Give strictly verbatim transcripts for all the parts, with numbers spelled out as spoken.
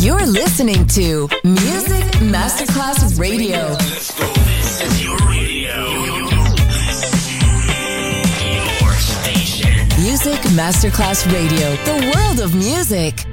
You're listening to Music Masterclass Radio. Let's go. This is your radio. Your station. Music Masterclass Radio. The world of music.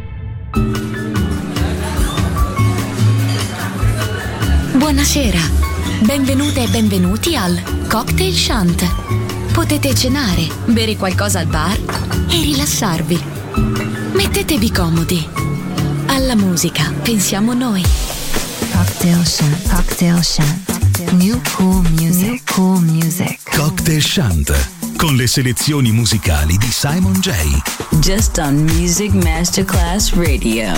Buonasera. Benvenute e benvenuti al Cocktail Shant. Potete cenare, bere qualcosa al bar e rilassarvi. Mettetevi comodi. Alla musica pensiamo noi. Cocktail Shant. Cocktail Shant. New cool music. New cool music. Cocktail Shant. Con le selezioni musicali di Simon J. Just on Music Masterclass Radio.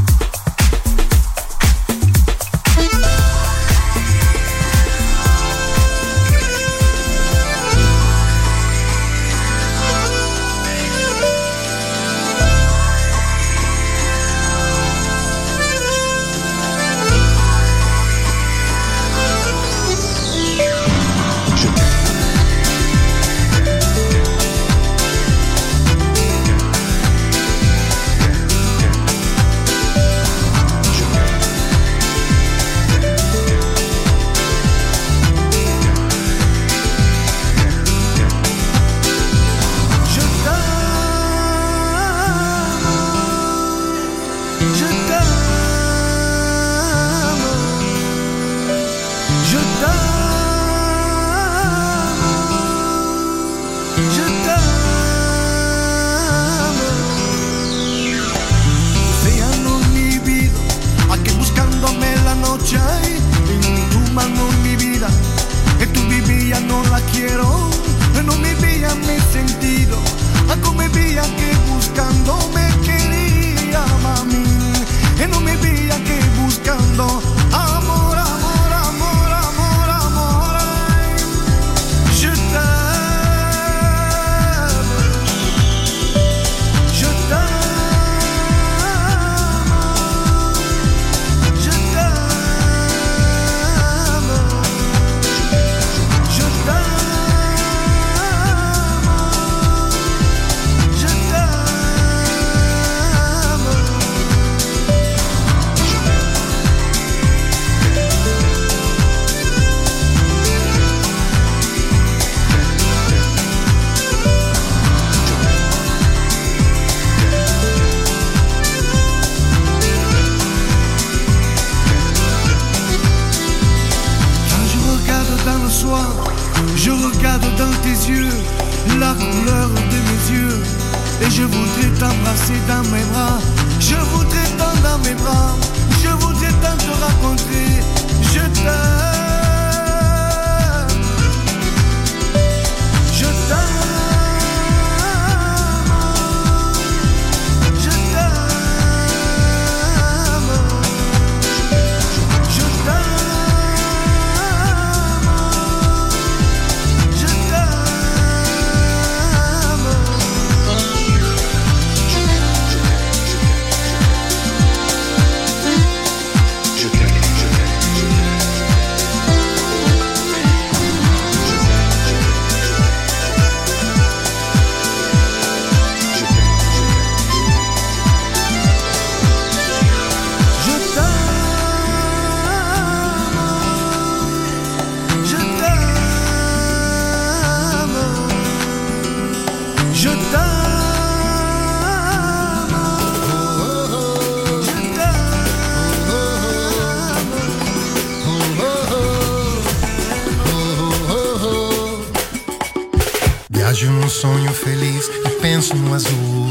Viaggio in un sogno feliz e penso no azul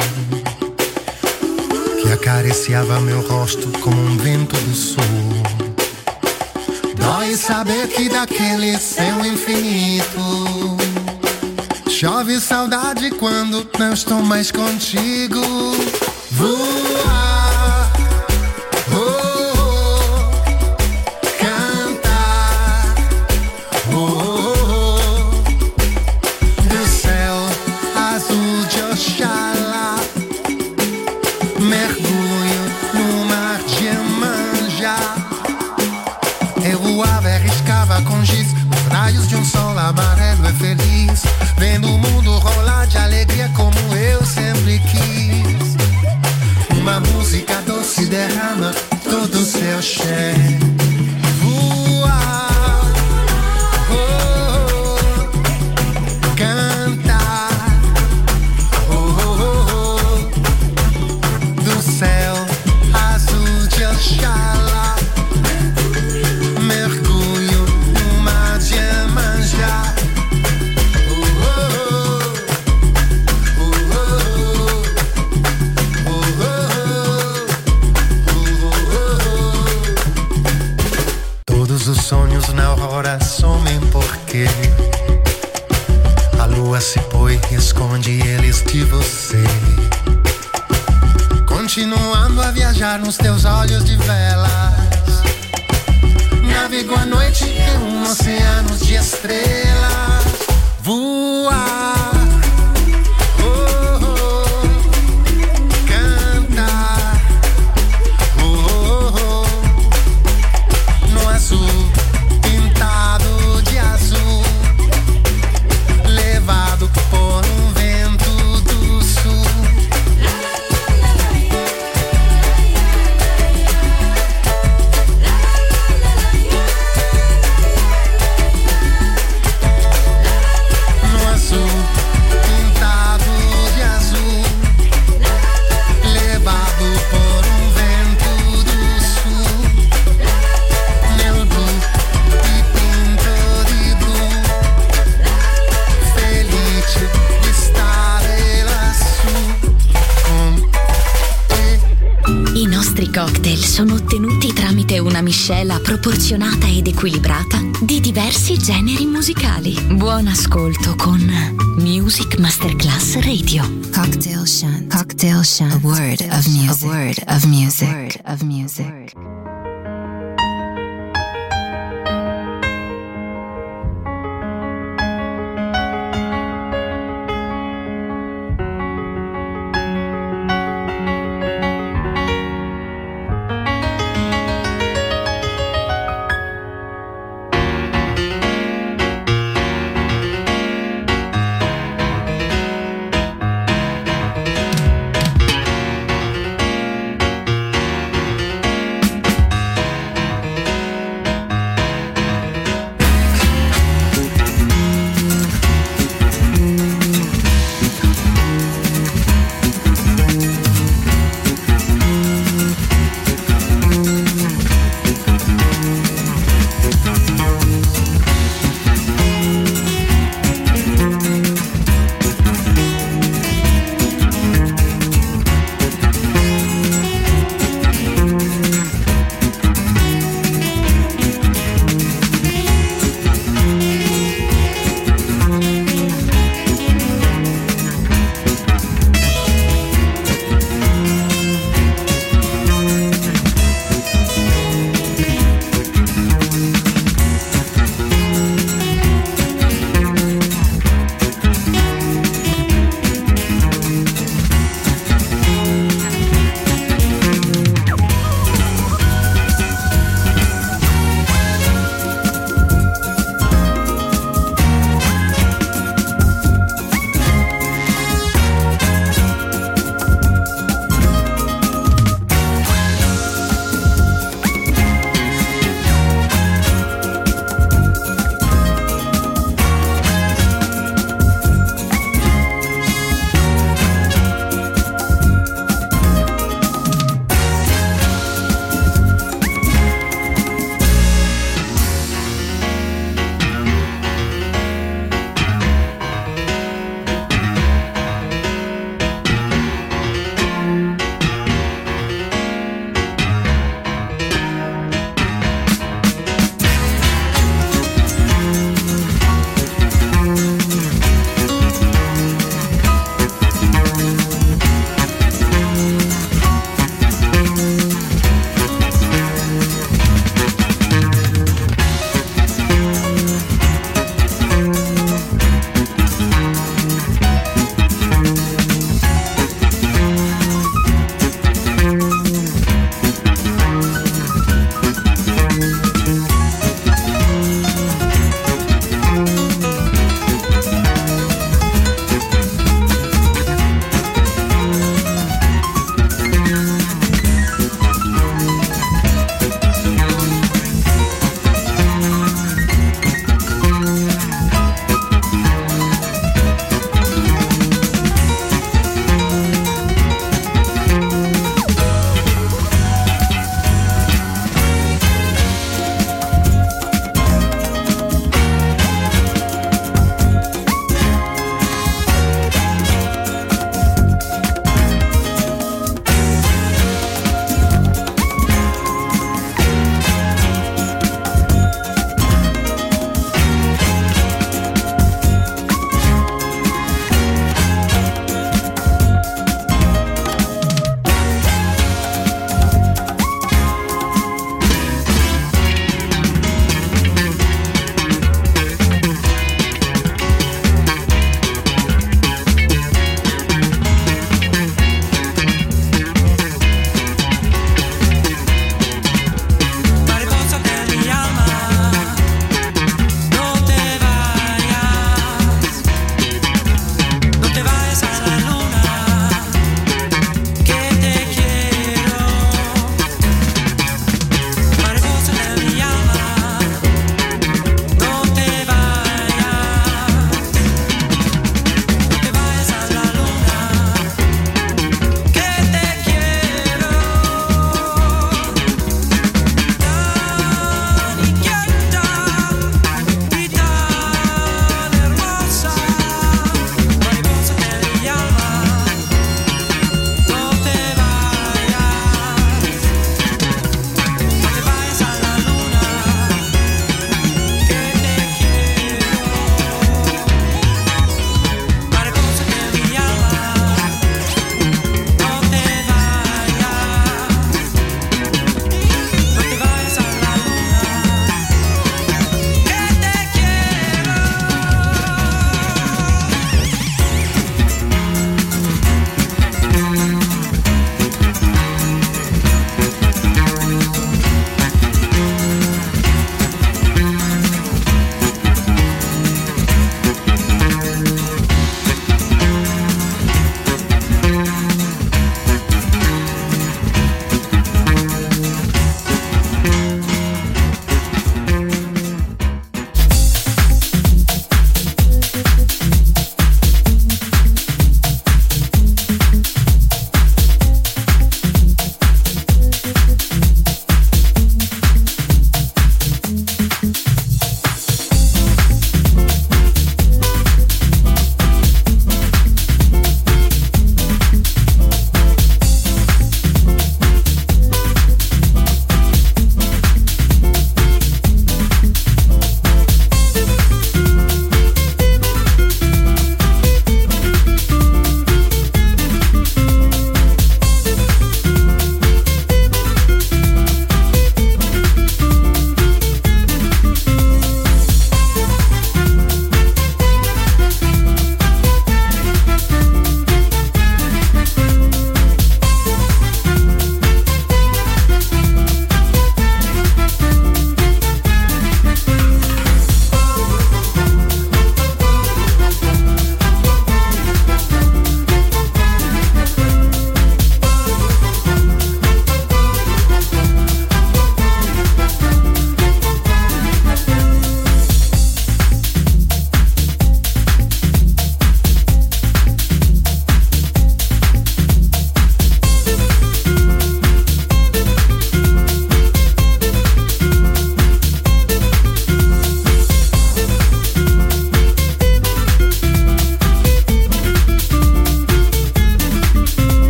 que acariciava meu rosto como um vento do sul. Dói saber que daquele céu infinito chove saudade quando não estou mais contigo. Voar, oh, oh, cantar, oh, oh, do céu azul de Oxalá, mergulho no mar de Iemanjá. Eu voava e arriscava com giz os raios de um sol amarelo e feliz, vendo o mundo rolar de alegria como eu sempre quis. derrama todo o seu cheiro. A lua se põe e esconde eles de você, continuando a viajar nos teus olhos de velas. Navigo a noite em um oceano de estrelas. Voar. Cocktail sono ottenuti tramite una miscela proporzionata ed equilibrata di diversi generi musicali. Buon ascolto con Music Masterclass Radio. Cocktail Shant. Cocktail Shant. A word of music. A word of music. A word of music.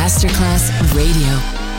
Masterclass Radio.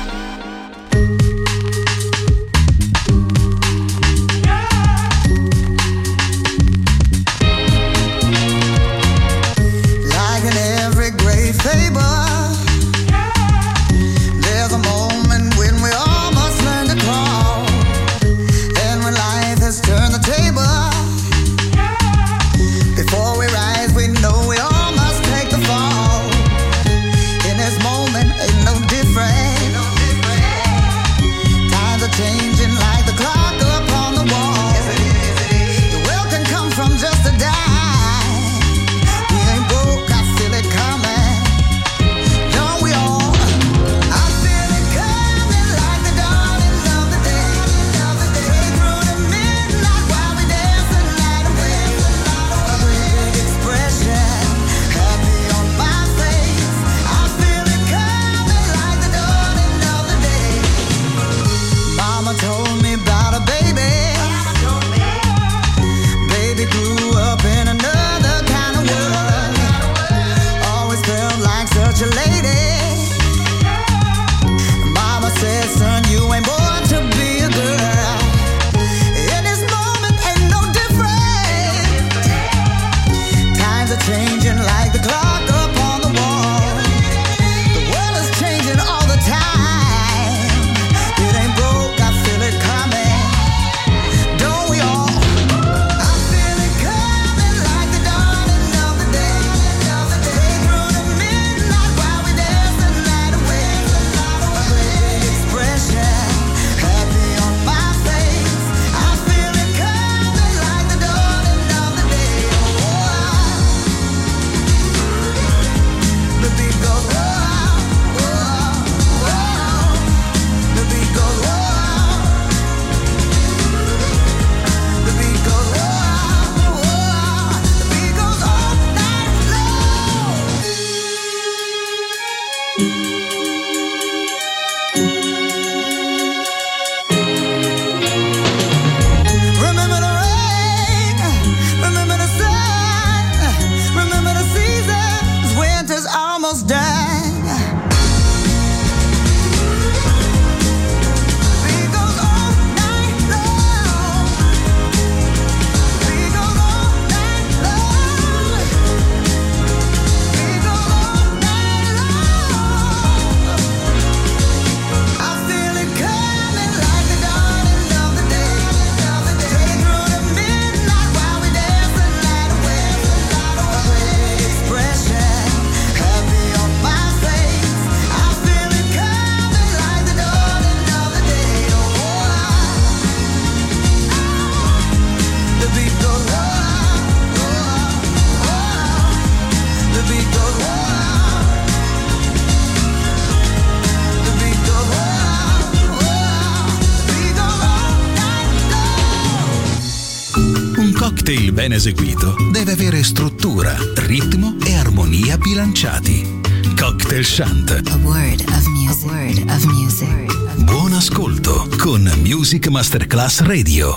cocktail ben eseguito deve avere struttura, ritmo e armonia bilanciati. Cocktail Chant. A word of music. A word of music. Buon ascolto con Music Masterclass Radio.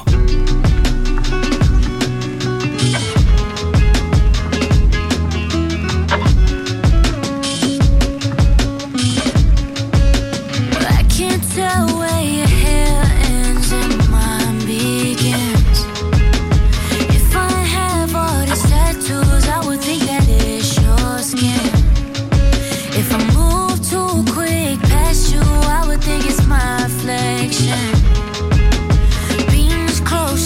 Being close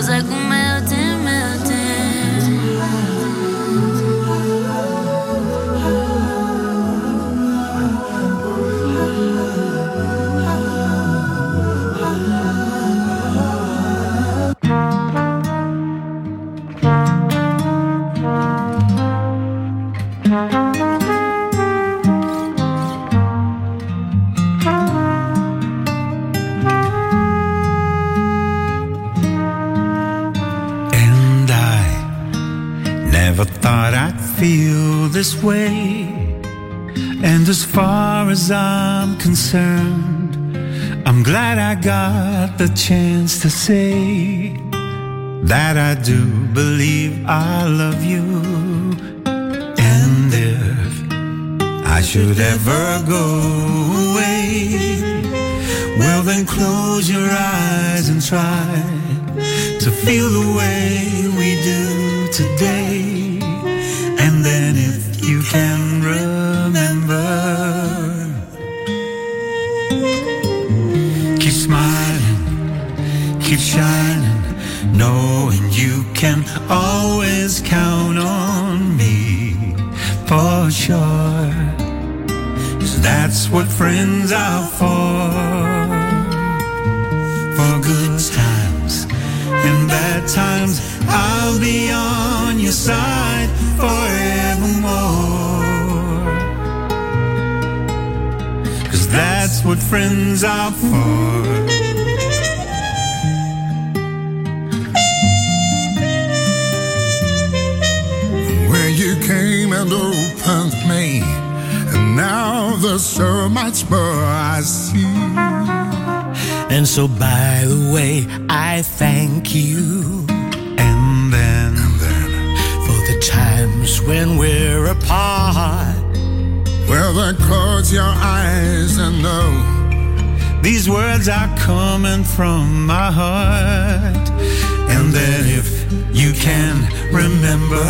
feels like we're melting, melting. Thought I'd feel this way, and as far as I'm concerned, I'm glad I got the chance to say that I do believe I love you. And if I should ever go away, well then close your eyes and try to feel the way we do today. And then if you can remember, keep smiling, keep shining, knowing you can always count on me for sure. 'Cause that's what friends are for. For good times and bad times, I'll be on your side forevermore. 'Cause that's what friends are for. Where you came and opened me, and now there's so much more I see. And so by the way, I thank you. And then, and then for the times when we're apart, well then close your eyes and know these words are coming from my heart. And then if you can remember,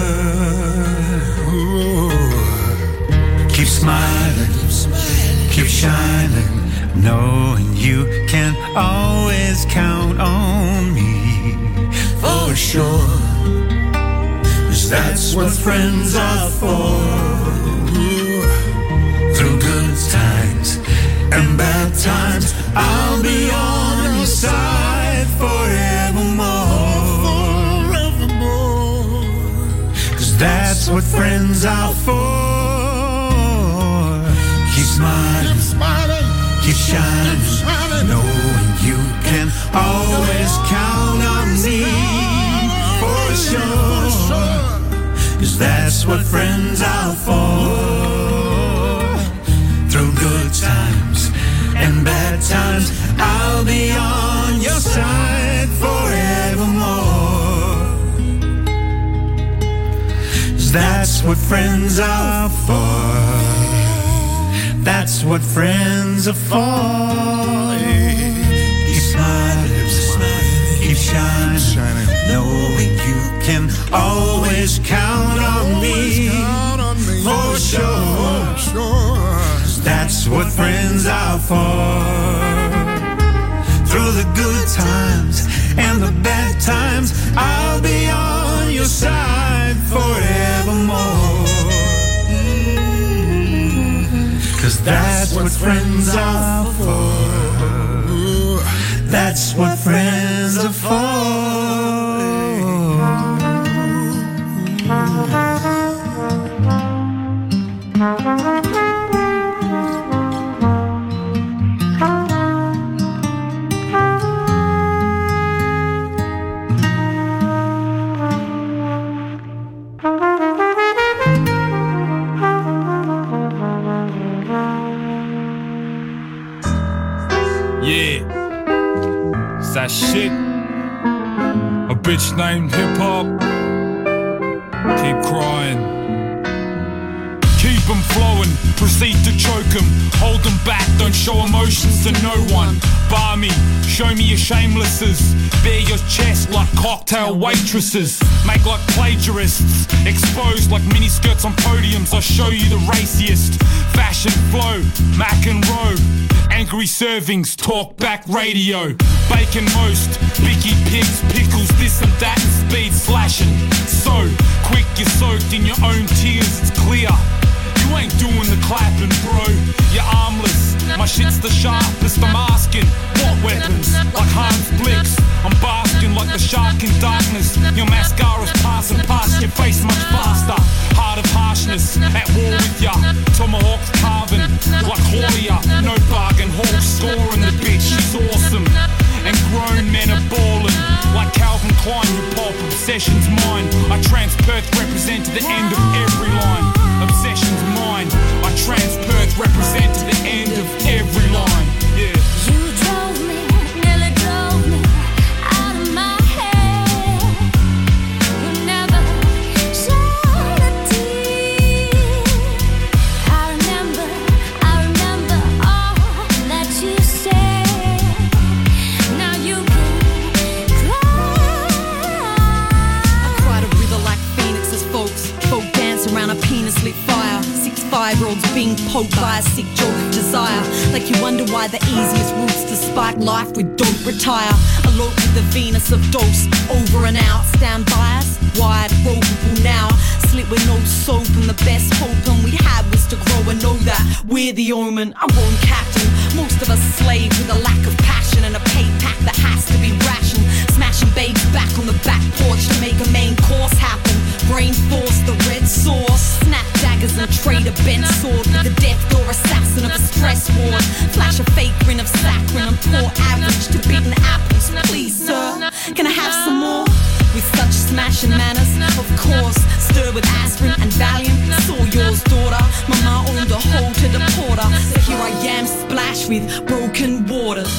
ooh, keep smiling, keep shining, knowing you can always count on me for sure. 'Cause that's what friends are for. Through good times and bad times, I'll be on your side forevermore. Forevermore. 'Cause that's what friends are for. Keep smiling, keep smiling, keep shining, keep shining, knowing you can always count on me for sure. 'Cause that's what friends are for. Through good times and bad times, I'll be on your side forevermore. 'Cause that's what friends are for. That's what friends are for. Keep smiling, keep shining, knowing you can always count on me for sure. That's what friends are for. Through the good times and the bad times, I'll be on your side forevermore. 'Cause that's what friends are for. That's what friends are for. That shit, a bitch named hip hop. Keep crying, keep them flowing, proceed to choke them, hold them back, don't show emotions to no one. Bar me, show me your shamelesses, bare your chest like cocktail waitresses, make like plagiarists, exposed like miniskirts on podiums. I'll show you the raciest fashion flow, Mac and Rowe. Angry servings, talk back radio. Bacon most, Bicky pigs, pickles, this and that and speed slashing. So quick you're soaked in your own tears, it's clear. You ain't doing the clapping, bro. You're armless. My shit's the sharpest. I'm asking, what weapons? Like Hans Blix. I'm basking like the shark in darkness. Your mascara's passing past your face much faster. Heart of harshness, at war with ya. Tomahawks carving like Hoya. No bargain, Hawk scoring the bitch. She's awesome. And grown men are ballin'. Like Calvin Klein, your pop obsession's mine. I trans-Perth represent to the end of every line. Obsession's mine. I trans-Perth represent to the end of every line. Yeah. You drove me, nearly drove me out of my head. You never shed a tear. I remember, I remember all that you said. Now you can cry. I cry to breathe like phoenixes, folks. Folk dance around a penis lit fire. Six five-year-olds being poked by a sick joke of desire. Like you wonder why the easiest routes to spike life with don't retire. Elope with the Venus of dose. Over and out, stand by us. Wide, ropeable now. Slit with no soap and the best hope and we had was to grow and know that we're the omen. I'm wrong captain. Most of us slave with a lack of passion and a pay pack that has to be rationed. Smashing babes back on the back porch to make a main course happen. Brain force, the red sauce. Snap daggers and trade a bent sword with the death door assassin of a stress ward. Flash a fake grin of saccharine and pour average to beaten apples. Please, sir, can I have some more? With such smashing manners, of course. Stir with aspirin and Valium. Saw yours, daughter. Mama owned a hole to the porter. So here I am, splashed with broken waters.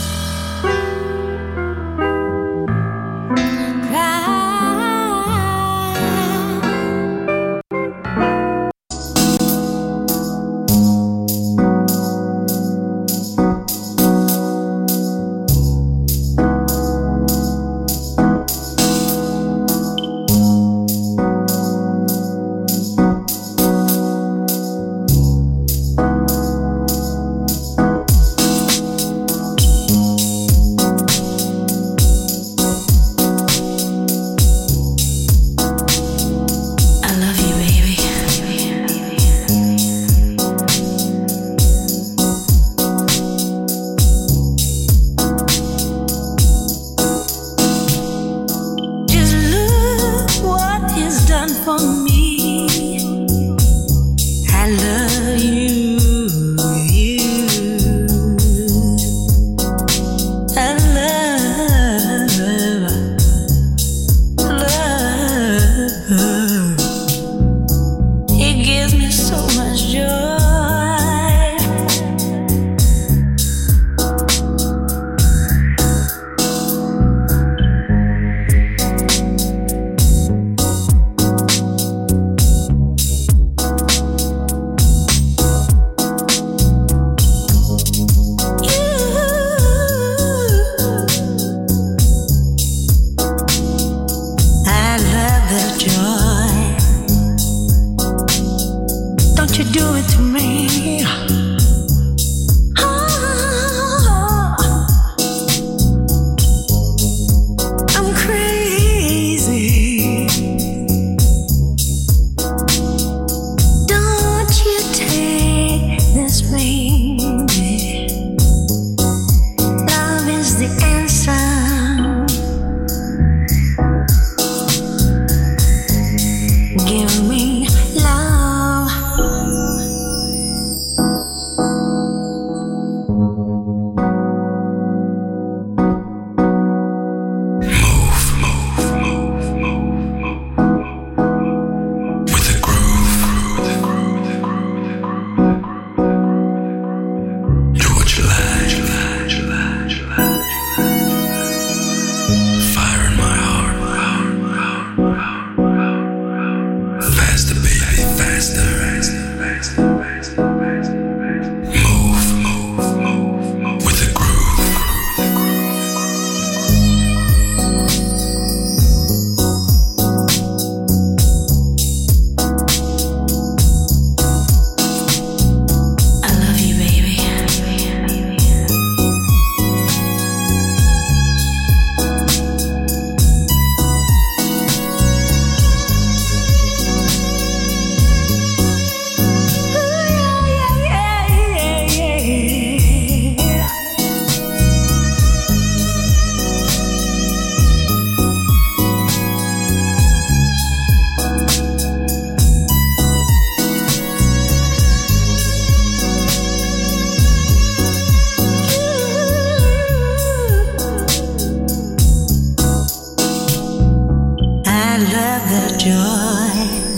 that love, that joy.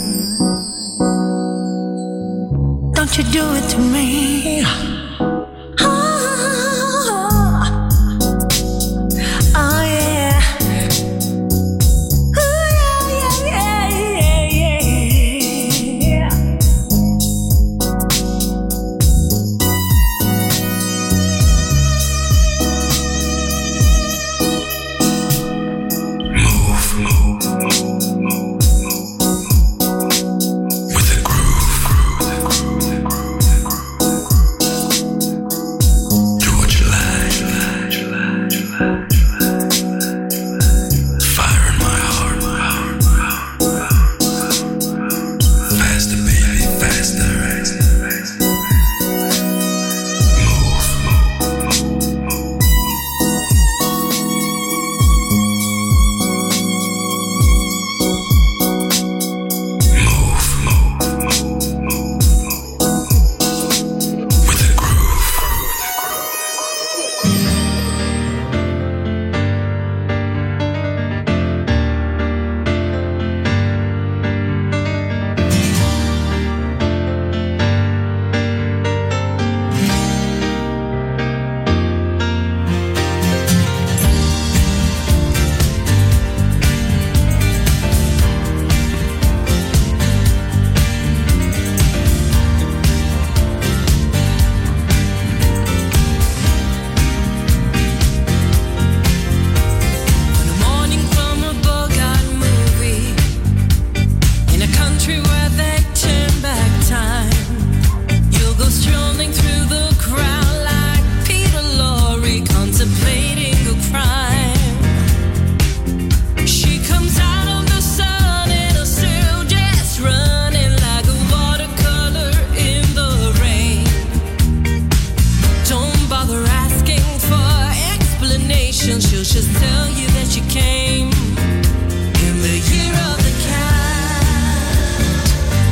Don't you do it to me. Oh, oh yeah. Ooh, yeah, yeah, yeah, yeah, yeah. Move, move, move, move, with the groove, do what you like, fire in my heart, faster baby, faster, move, with the groove. On a morning from a Bogart movie, in a country where they turn back time, you'll go strolling through the crowd like Peter Lorre contemplating a crime. She comes out of the sun in a silk dress, running like a watercolor in the rain. Don't bother asking for explanations, she'll just tell you that she came in the year of the cat.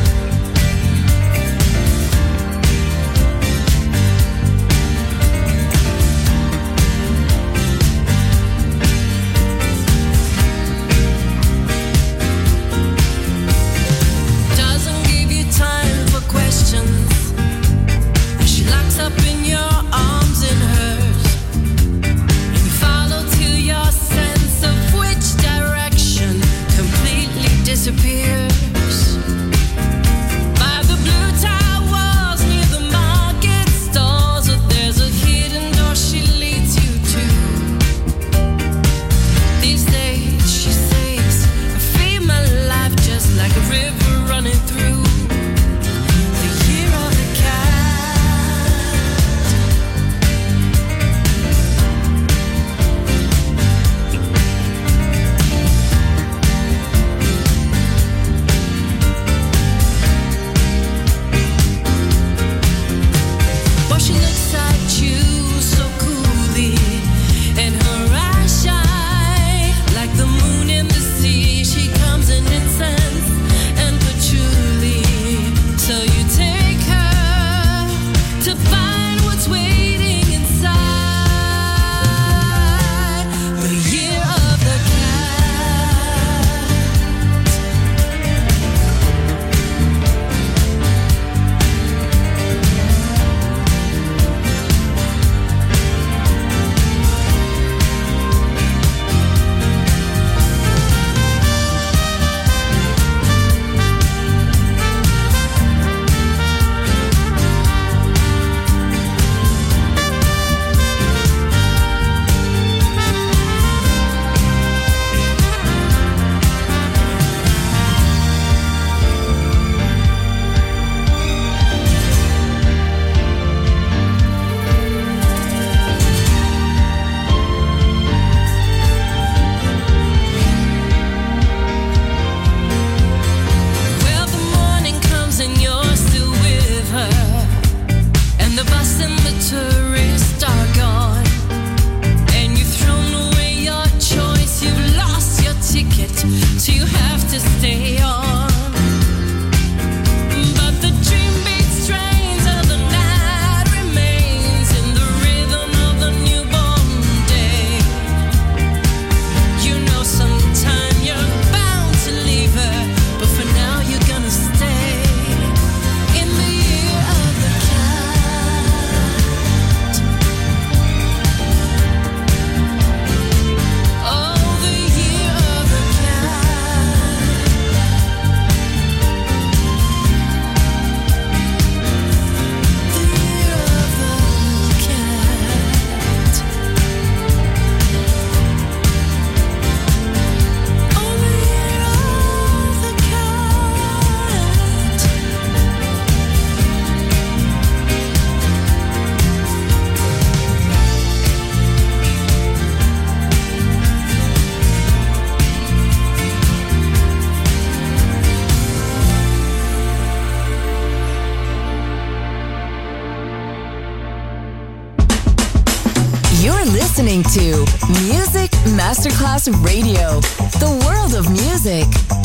Doesn't give you time for questions, and she locks up in your arms in hers, and you follow till your sense of which direction completely disappears. By the blue tile walls near the market stalls, there's a hidden door she leads you to. These days, she says, I feel my life just like a river running through the year of the cat. Well, she looks at you so coolly, and her eyes shine like the moon in the sea. She comes in incense and patchouli, so you take her to find what's waiting inside the year of the cat. Well, the morning comes and you're still with her, and the bus and the tourists are gone, and you've thrown away your choice, you've lost your ticket, so you have to stay on. But the dream beat strains of the night remains in the rhythm of the newborn day. You know sometime you're bound to listening to Music Masterclass Radio, the world of music.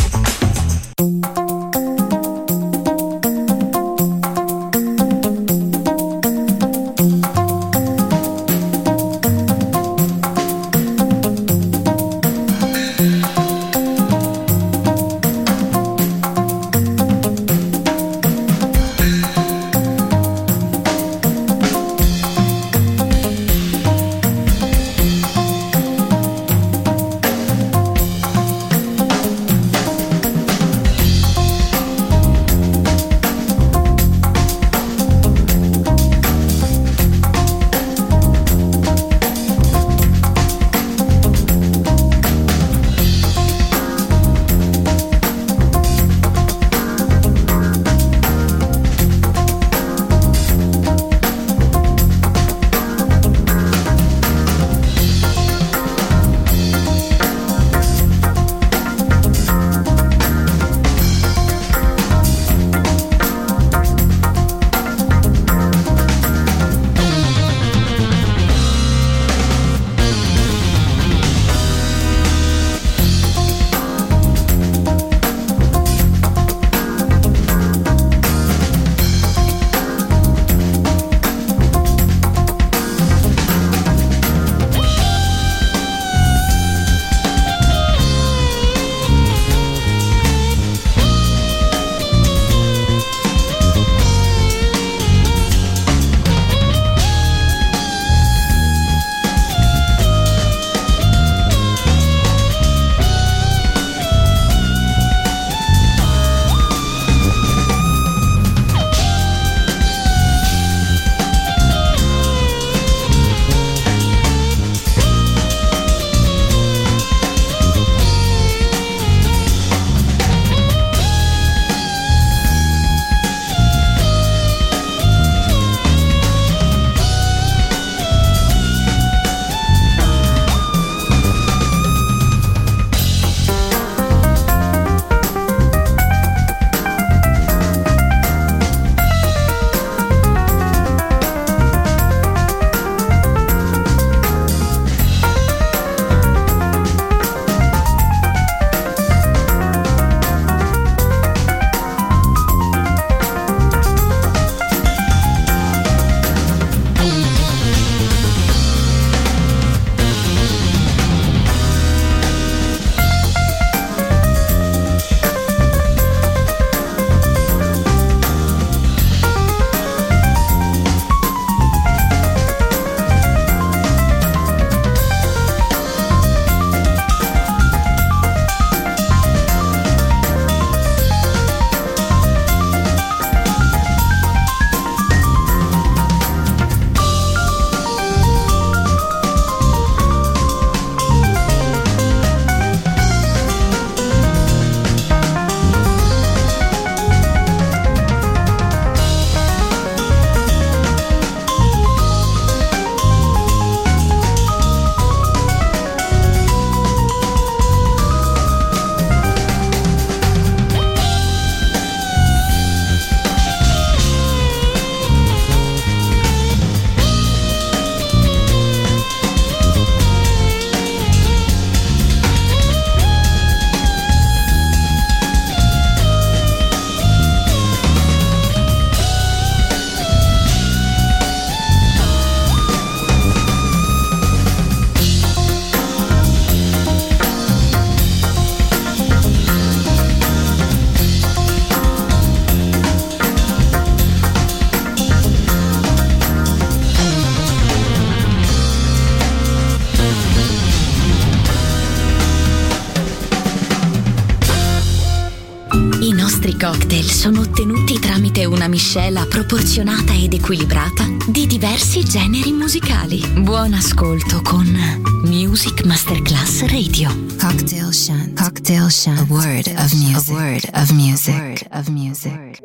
nostri cocktail sono ottenuti tramite una miscela proporzionata ed equilibrata di diversi generi musicali. Buon ascolto con Music Masterclass Radio. Cocktail Shunt. Cocktail Shunt. A word of music. A word of music. A word of music.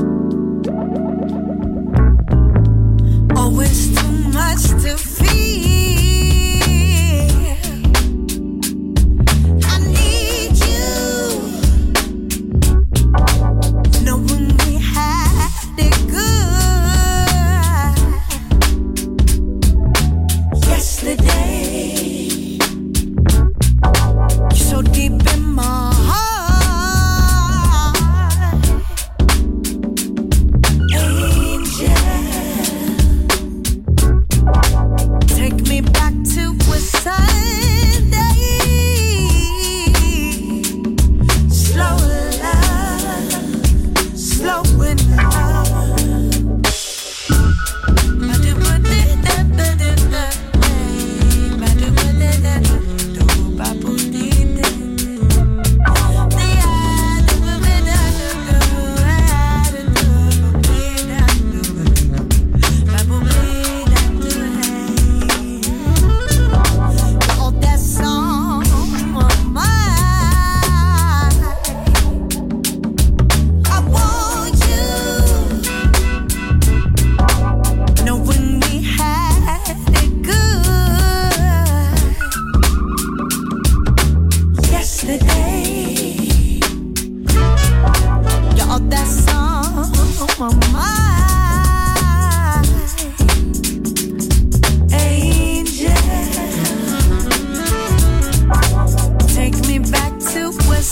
Always too much to feel.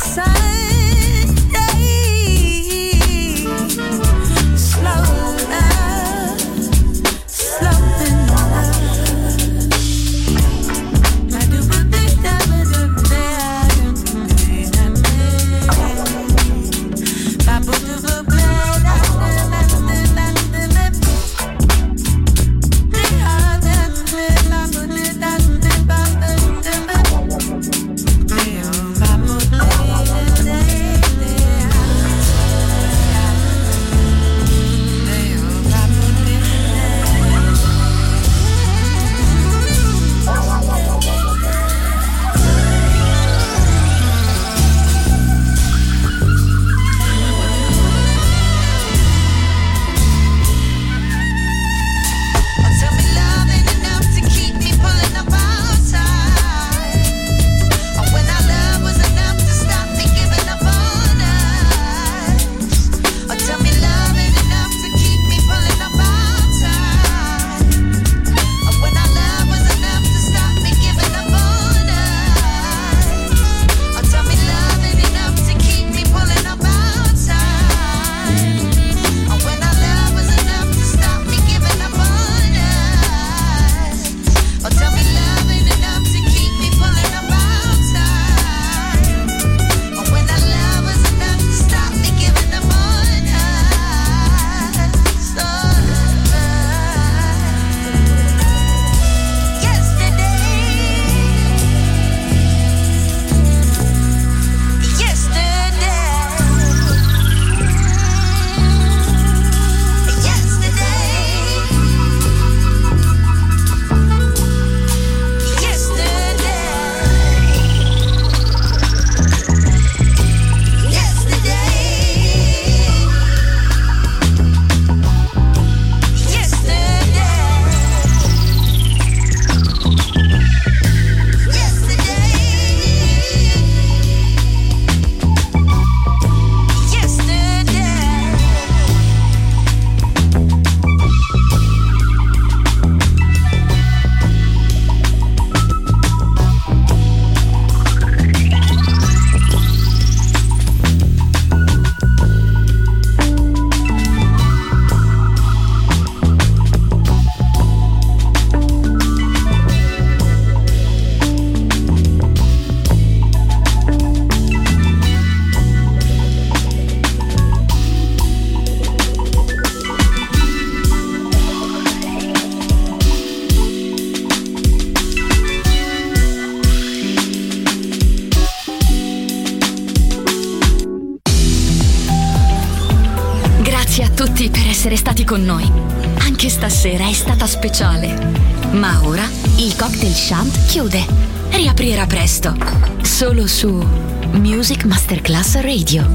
tutti per essere stati con noi. Anche stasera è stata speciale. Ma ora il Cocktail Shant chiude. Riaprirà presto. Solo su Music Masterclass Radio.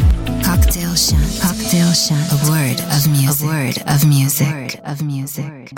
Cocktail Shant. Cocktail Shant. A word of music. A word of music. A word of music.